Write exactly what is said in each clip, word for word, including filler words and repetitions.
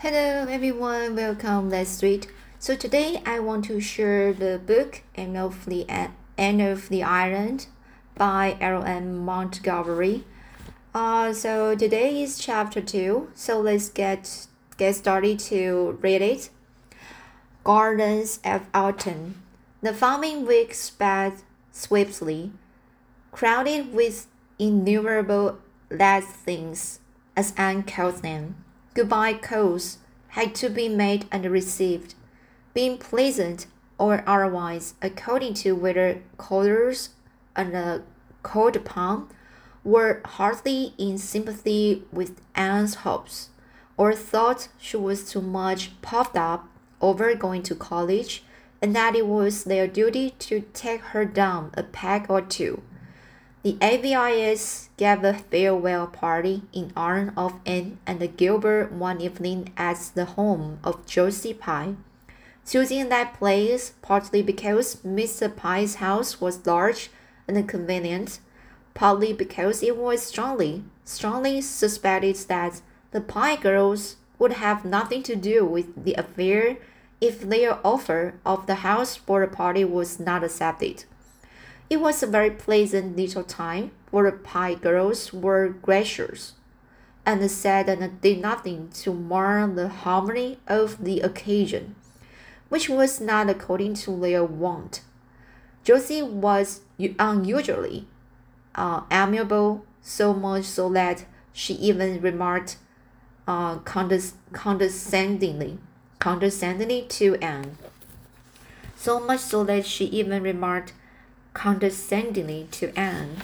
Hello everyone, welcome. Let's read. So today I want to share the book Anne of the Anne of the Island by L M Montgomery. Uh, so today is chapter two. So let's get get started to read it. Gardens of Autumn. The following week sped swiftly, crowded with innumerable last things, as Anne called them. Goodbye calls had to be made and received, being pleasant or otherwise, according to whether callers and uh, called upon were heartily in sympathy with Anne's hopes, or thought she was too much puffed up over going to college, and that it was their duty to take her down a peg or two. The A V I S gave a farewell party in honor of Anne and Gilbert one evening at the home of Josie Pye, choosing that place partly because Mister Pye's house was large and convenient, partly because it was strongly, strongly suspected that the Pye girls would have nothing to do with the affair if their offer of the house for a party was not accepted. It was a very pleasant little time, for the Pye girls were gracious, and said and did nothing to mar the harmony of the occasion, which was not according to their wont. Josie was unusually uh, amiable, so much so that she even remarked uh, condes- condescendingly, condescendingly to Anne. So much so that she even remarked condescendingly to Anne.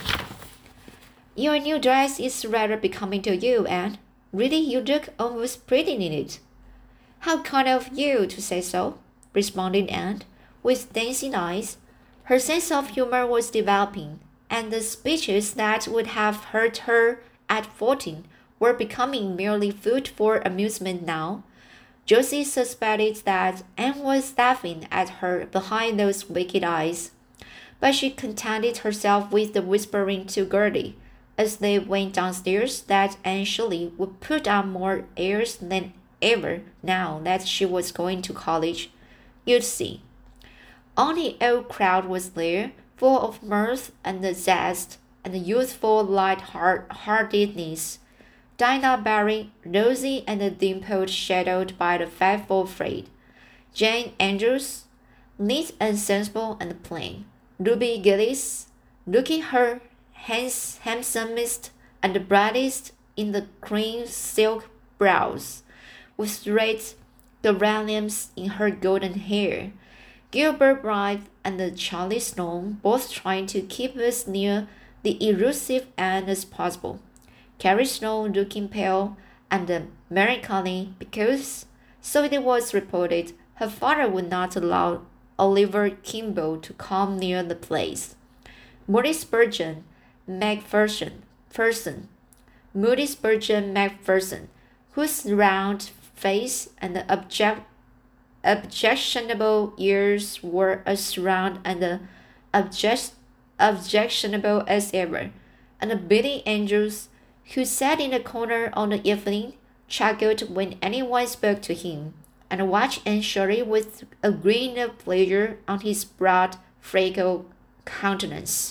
Your new dress is rather becoming to you, Anne. Really, you look almost pretty in it. How kind of you to say so, responded Anne, with dancing eyes. Her sense of humor was developing, and the speeches that would have hurt her at fourteen were becoming merely food for amusement now. Josie suspected that Anne was laughing at her behind those wicked eyes, but she contented herself with the whispering to Gertie, as they went downstairs, that Anne Shirley would put on more airs than ever now that she was going to college. You'd see. All the old crowd was there, full of mirth and zest and youthful light-heartedness. Dinah Barry, rosy and dimpled, shadowed by the faithful Fred. Jane Andrews, neat and sensible and plain. Ruby Gillis, looking her hands- handsomest and brightest in the cream silk blouse, with red geraniums in her golden hair. Gilbert Blythe and Charlie Sloane, both trying to keep as near the elusive Anne as possible. Carrie Sloane looking pale and melancholy because, so it was reported, her father would not allow Oliver Kimball to come near the place. Moody Spurgeon Macpherson, Ferson, Moody Spurgeon Macpherson, whose round face and object, objectionable ears were as round and object, objectionable as ever, and Billy Andrews, who sat in a corner on the evening, chuckled when anyone spoke to him, and watched Anne Shirley with a grin of pleasure on his broad, freckled countenance.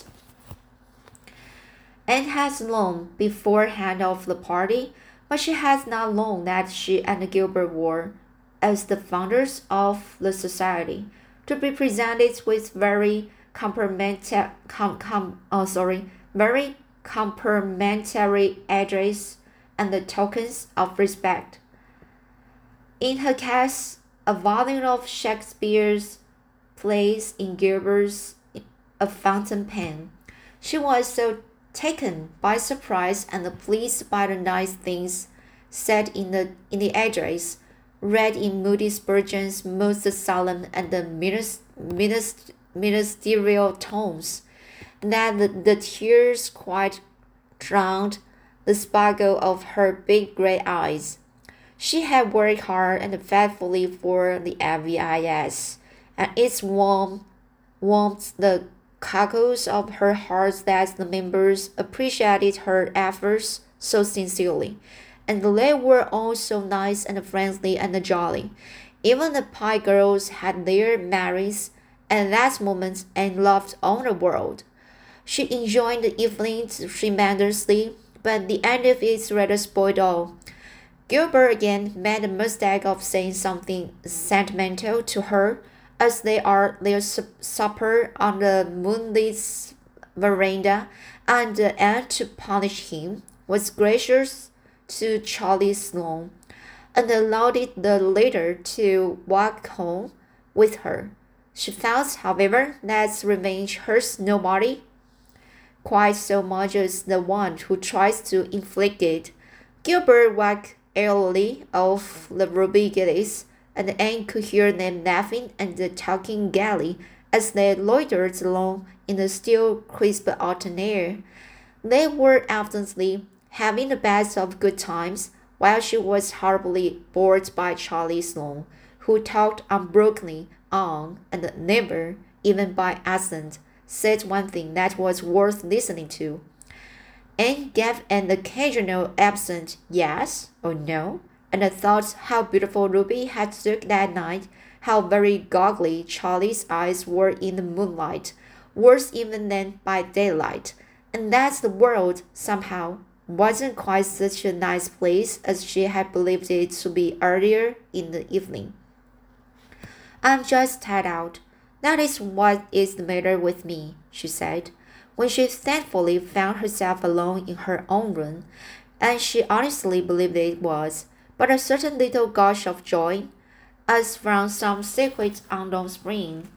Anne has known beforehand of the party, but she has not known that she and Gilbert were, as the founders of the society, to be presented with very complimentary, com, com, oh, sorry, very complimentary address and the tokens of respect. In her case, a volume of Shakespeare's plays in Gilbert's A Fountain Pen. She was so taken by surprise and pleased by the nice things said in the in the address, read in Moody Spurgeon's most solemn and minist, minist, ministerial tones, that the, the tears quite drowned the sparkle of her big gray eyes. She had worked hard and faithfully for the A V I S, and its warm warmed the cockles of her heart that the members appreciated her efforts so sincerely, and they were all so nice and friendly and jolly. Even the pie girls had their merries at that moment and loved all the world. She enjoyed the evening tremendously, but the end of it rather spoiled all. Gilbert again made the mistake of saying something sentimental to her as they are their supper on the moonlit veranda, and the aunt, to punish him, was gracious to Charlie Sloane and allowed the latter to walk home with her. She felt, however, that revenge hurts nobody quite so much as the one who tries to inflict it. Gilbert walked airily off the Ruby Gillies, and Anne could hear them laughing and talking gaily as they loitered along in the still crisp autumn air. They were evidently having the best of good times, while she was horribly bored by Charlie Sloane, who talked unbrokenly on and never, even by accident, said one thing that was worth listening to. Anne gave an occasional absent yes or no, and thought how beautiful Ruby had looked that night, how very goggly Charlie's eyes were in the moonlight, worse even than by daylight, and that the world, somehow, wasn't quite such a nice place as she had believed it to be earlier in the evening. I'm just tired out. That is what is the matter with me, she said, when she thankfully found herself alone in her own room, and she honestly believed it was but a certain little gush of joy, as from some secret unknown spring,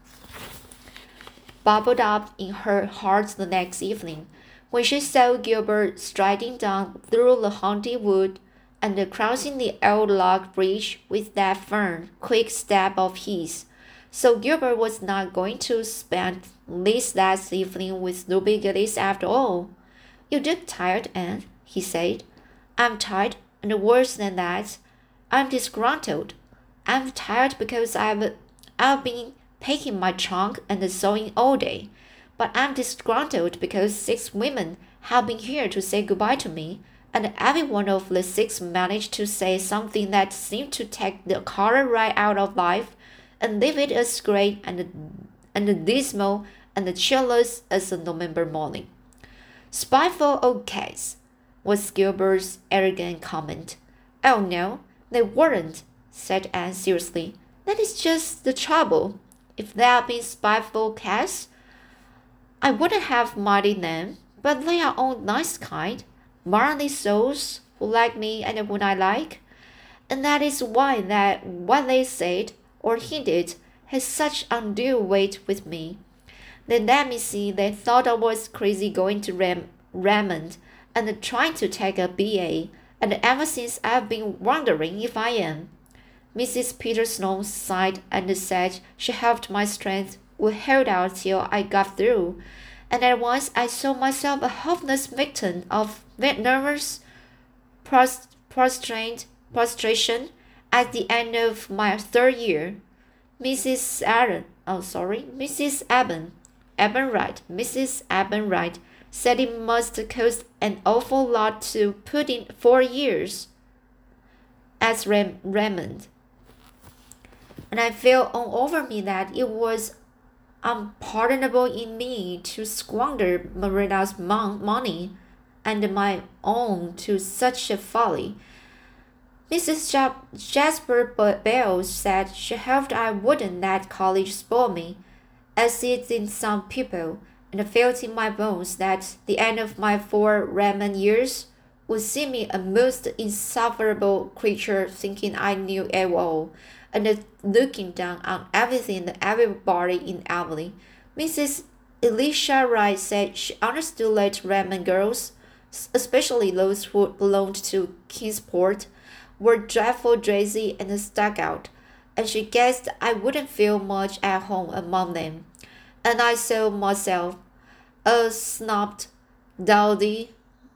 bubbled up in her heart the next evening, when she saw Gilbert striding down through the haunted wood and crossing the old log bridge with that firm, quick step of his. So Gilbert was not going to spend this last evening with Ruby Gillis after all. You look tired, Anne, he said. I'm tired, and worse than that, I'm disgruntled. I'm tired because I've, I've been packing my trunk and sewing all day. But I'm disgruntled because six women have been here to say goodbye to me, and every one of the six managed to say something that seemed to take the color right out of life and leave it as gray and, and dismal and cheerless as a November morning. Spiteful old cats, was Gilbert's arrogant comment. Oh no, they weren't, said Anne seriously. That is just the trouble. If they had been spiteful cats, I wouldn't have minded them, but they are all nice kind, manly souls who like me and whom I like, and that is why that what they said or hinted has such undue weight with me. Then let me see, they thought I was crazy going to Ram- Raymond and trying to take a B A, and ever since I've been wondering if I am. Missus Peter Sloane sighed and said she hoped my strength would hold out till I got through, and at once I saw myself a helpless victim of nervous prost- prostrate, prostration at the end of my third year. Missus Aaron, oh sorry, Missus Eben, Eben Wright, Missus Eben Wright said it must cost an awful lot to put in four years at Ram- Raymond. And I felt all over me that it was unpardonable in me to squander Marina's mon- money and my own to such a folly. Missus Ja- Jasper Bell said she hoped I wouldn't let college spoil me, as it did some people, and I felt in my bones that the end of my four Raymond years would see me a most insufferable creature thinking I knew it all, and looking down on everything and everybody in Emily. Missus Elisha Wright said she understood that Raymond girls, especially those who belonged to Kingsport, were dreadful lazy and stuck out, and she guessed I wouldn't feel much at home among them. And I saw myself, a snubbed, dowdy,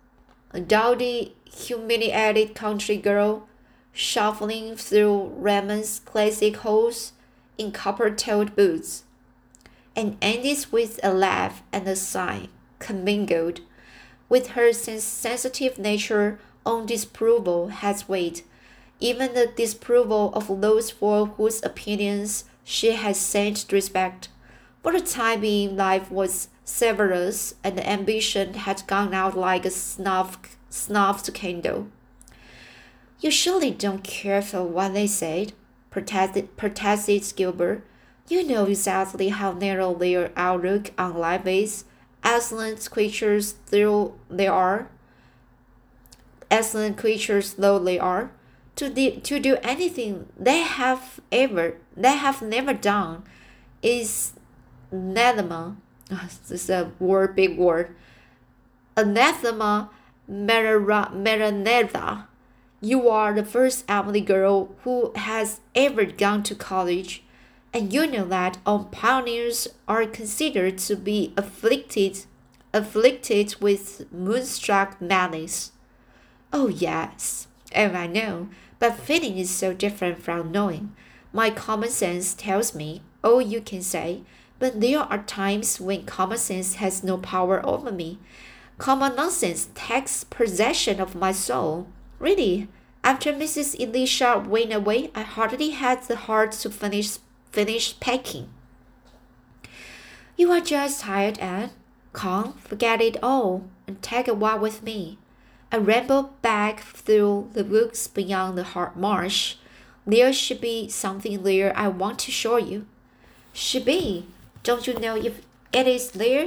dowdy, humiliated country girl, shuffling through Raymond's classic halls in copper-toed boots, and ended with a laugh and a sigh, commingled with her sensitive nature own disapproval has weight, even the disapproval of those for whose opinions she had sent respect. For the time being, life was severus, and the ambition had gone out like a snuffed, snuffed candle. You surely don't care for what they said, protested, protested Gilbert. You know exactly how narrow their outlook on life is. Excellent creatures though they are, excellent creatures though they are, to, de- to do anything they have ever, they have never done, is anathema. This is a word, big word. Anathema maranatha. You are the first Emily girl who has ever gone to college, and you know that all pioneers are considered to be afflicted, afflicted with moonstruck madness. Oh yes, oh I know, but feeling is so different from knowing. My common sense tells me all you can say, but there are times when common sense has no power over me. Common nonsense takes possession of my soul. Really, after Missus Elisha went away, I hardly had the heart to finish finish packing. You are just tired, Anne. Come, forget it all, and take a walk with me. I rambled back through the woods beyond the hard marsh. There should be something there I want to show you. Should be? Don't you know if it is there?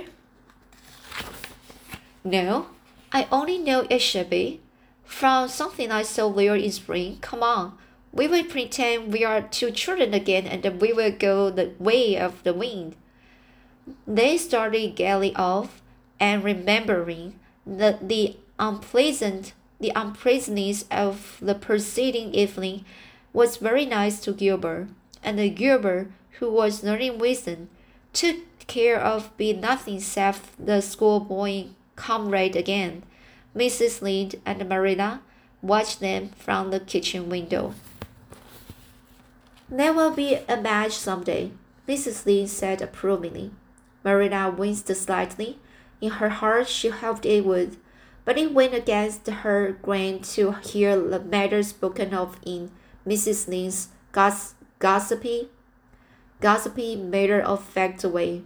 No, I only know it should be. From something I saw there in spring. Come on. We will pretend we are two children again, and then we will go the way of the wind. They started gaily off, and remembering that the unpleasant, the unpleasantness of the preceding evening was very nice to Gilbert, and Gilbert, who was learning wisdom, took care of being nothing save the schoolboy comrade again. Missus Lynde and Marilla watched them from the kitchen window. There will be a match some day, Missus Lynde said approvingly. Marilla winced slightly. In her heart she hoped it would, but it went against her grain to hear the matter spoken of in Missus Lynde's goss- gossipy, gossipy matter-of-fact way.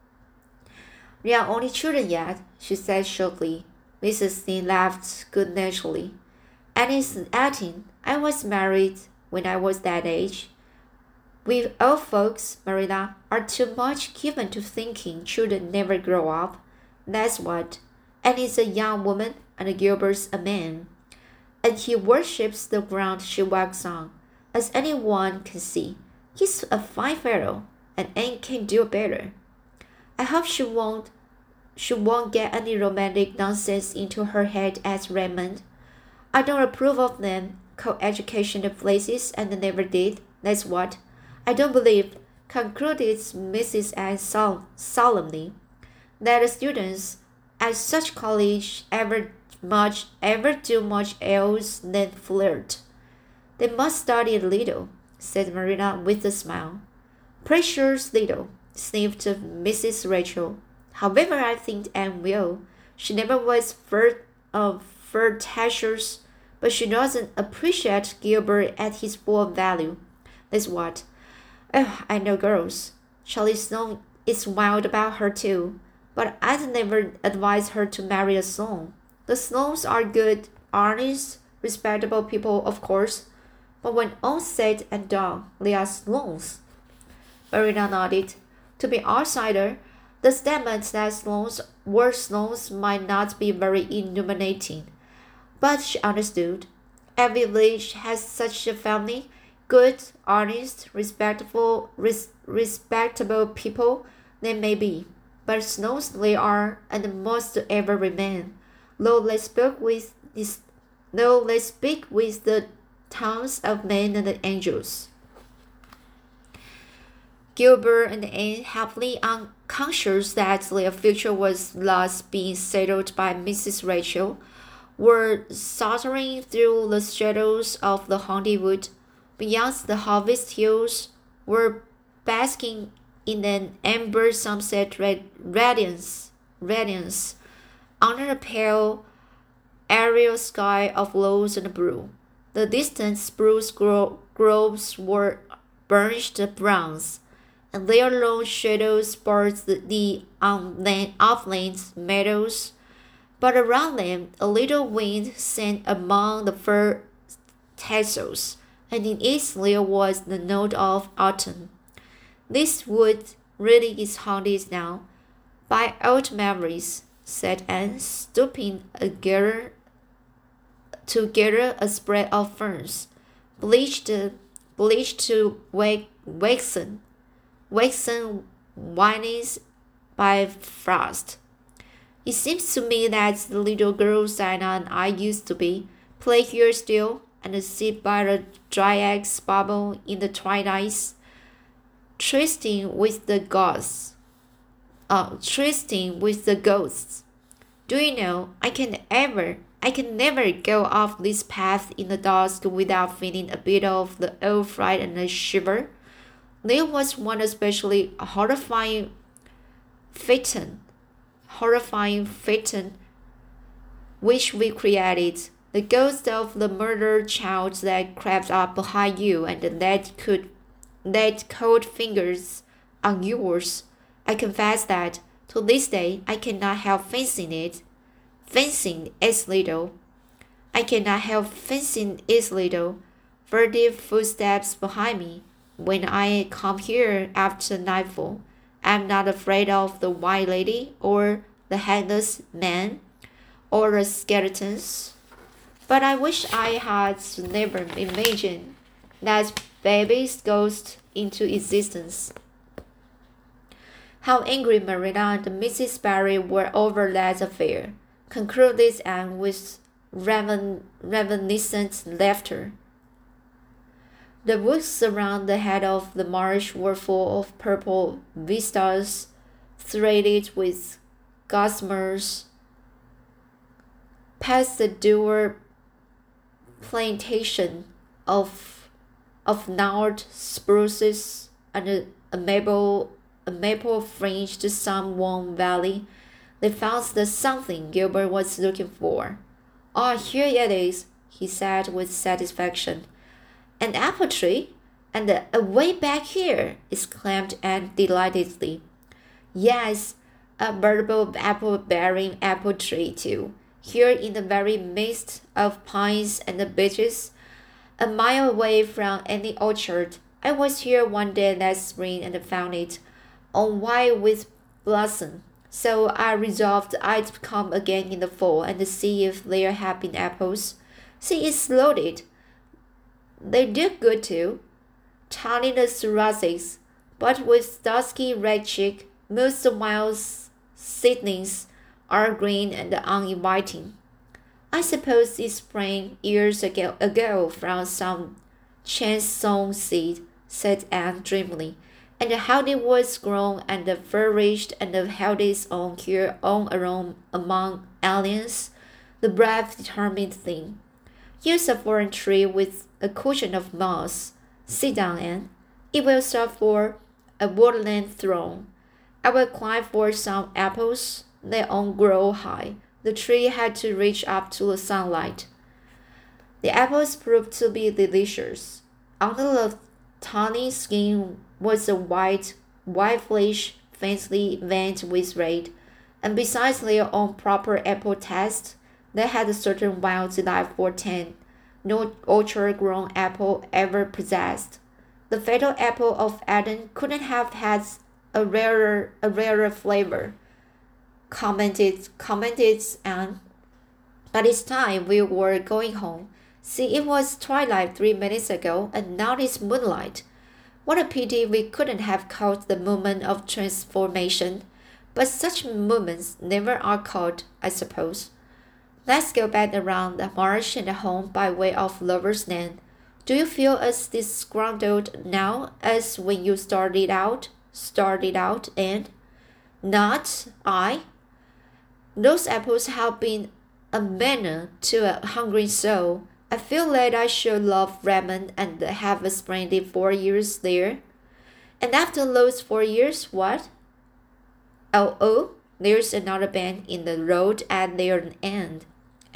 We are only children yet, she said shortly. Missus Lynde laughed good-naturedly. Annie's eighteen. I was married when I was that age. We old folks, Marilla, are too much given to thinking children never grow up. That's what. Annie's a young woman, and Gilbert's a man. And he worships the ground she walks on, as anyone can see. He's a fine fellow, and Anne can do better. I hope she won't she won't get any romantic nonsense into her head as Raymond. I don't approve of them co-educational places and never did. That's what. I don't believe, concluded Missus Anne sol- solemnly, that the students at such college ever much ever do much else than flirt. They must study a little, said Marilla with a smile. Precious little, sniffed Missus Rachel. However, I think Anne will. She never was flirt of flirtatious, but she doesn't appreciate Gilbert at his full value. That's what. Oh, I know girls. Charlie Sloane is wild about her too, but I'd never advise her to marry a Sloane. The Sloanes are good, honest, respectable people, of course, but when all said and done, they are Sloanes. Marilla nodded. To be outsider, the statement that Sloanes were Sloanes might not be very illuminating, but she understood. Every village has such a family. Good, honest, respectful, res- respectable people they may be, but Sloanes they are and must ever remain. Though they speak with this, though they speak with the tongues of men and angels. Gilbert and Anne, happily unconscious that their future was thus being settled by Missus Rachel, were sauntering through the shadows of the haunted wood. Beyond the harvest hills, were basking in an amber sunset radiance, radiance under a pale aerial sky of rose and blue. The distant spruce gro groves were burnished bronze, and their long shadows barred the upland meadows. But around them a little wind sang among the fir tassels, and in it there was the note of autumn. This wood really is haunted now by old memories, said Anne, stooping a gather, to gather a spread of ferns, bleached, bleached to waxen, waxen whiteness by frost. It seems to me that the little girl Dinah and I used to be, play here still, and sit by the dryas bubble in the twilights, trysting with the ghosts. Uh, trysting with the ghosts. Do you know, I can ever, I can never go off this path in the dusk without feeling a bit of the old fright and a shiver. There was one especially horrifying phaeton, horrifying phaeton, which we created. The ghost of the murdered child that crept up behind you and that could, laid cold fingers on yours. I confess that, to this day, I cannot help fancying it, fancying its little. I cannot help fancying its little, furtive footsteps behind me. When I come here after nightfall, I am not afraid of the white lady, or the headless man, or the skeletons. But I wish I had never imagined that baby's ghost into existence. How angry Marilla and Missus Barry were over that affair, concluded Anne with reven reminiscent laughter. The woods around the head of the marsh were full of purple vistas, threaded with gossamers. Past the dour plantation of of gnarled spruces and a, a maple a maple fringed some warm valley, they found the something Gilbert was looking for. Ah, oh, here it is, he said with satisfaction. An apple tree? And uh, away back here, exclaimed Anne delightedly. Yes, a veritable apple-bearing apple tree too, here in the very midst of pines and beeches, a mile away from any orchard. I was here one day last spring and found it on white with blossom, so I resolved I'd come again in the fall and see if there had been apples. See, it's loaded. They do good too, tiny the thoracics, but with dusky red cheek. Most wild seedlings are green and uninviting. I suppose it sprang years ago, ago from some chance-sown seed, said Anne dreamily, and how it was grown and flourished and held its own here on alone among aliens, the brave determined thing. Use a foreign tree with a cushion of moss. Sit down, Anne. It will serve for a woodland throne. I will climb for some apples. They won't grow high. The tree had to reach up to the sunlight. The apples proved to be delicious. Under the tawny skin was a white, white flesh faintly veined with red, and besides their own proper apple taste, they had a certain wild delightful tang no orchard-grown apple ever possessed. The fatal apple of Eden couldn't have had a rarer, a rarer flavor, commented, commented Anne. But it's time we were going home. See, it was twilight three minutes ago, and now it's moonlight. What a pity we couldn't have caught the moment of transformation. But such moments never are caught, I suppose. Let's go back around the marsh and home by way of Lover's Lane. Do you feel as disgruntled now as when you started out? Started out, and not I. Those apples have been a manna to a hungry soul. I feel that I should love Redmond and have a splendid four years there. And after those four years, what? Oh, oh, there's another bend in the road at their end.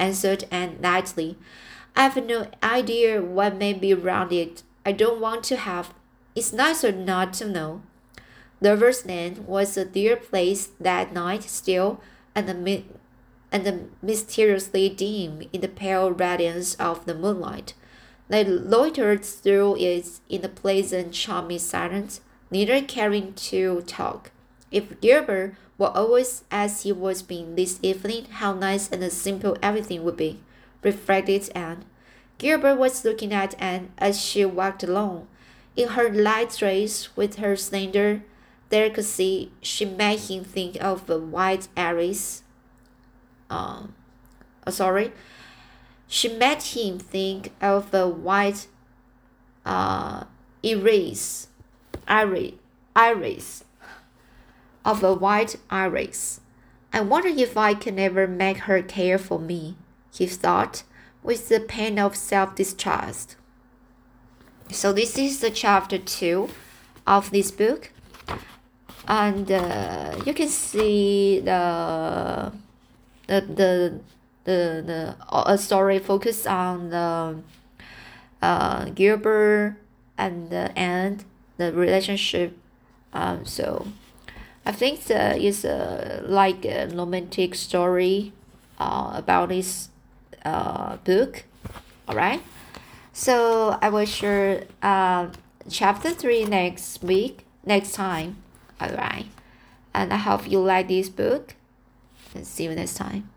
answered Anne lightly. I've no idea what may be around it. I don't want to have. It's nicer not to know. Lover's Lane was a dear place that night still, and the and mysteriously dim in the pale radiance of the moonlight. They loitered through it in a pleasant, charming silence, neither caring to talk. If Gilbert were always as he was being this evening, how nice and simple everything would be, reflected Anne. Gilbert was looking at Anne as she walked along. In her light dress, with her slender delicacy, she made him think of a white iris. Um, oh, sorry. She made him think of a white uh, iris, iris, iris, of a white iris. I wonder if I can ever make her care for me, he thought, with the pain of self-distrust. So this is the chapter two of this book, and uh, you can see the the the the, the a story focus on the uh, Gilbert and the Anne, the relationship. Um, so I think the is a like a romantic story uh, about this uh, book. All right. So I will share uh, chapter three next week, next time. All right. And I hope you like this book. And see you next time.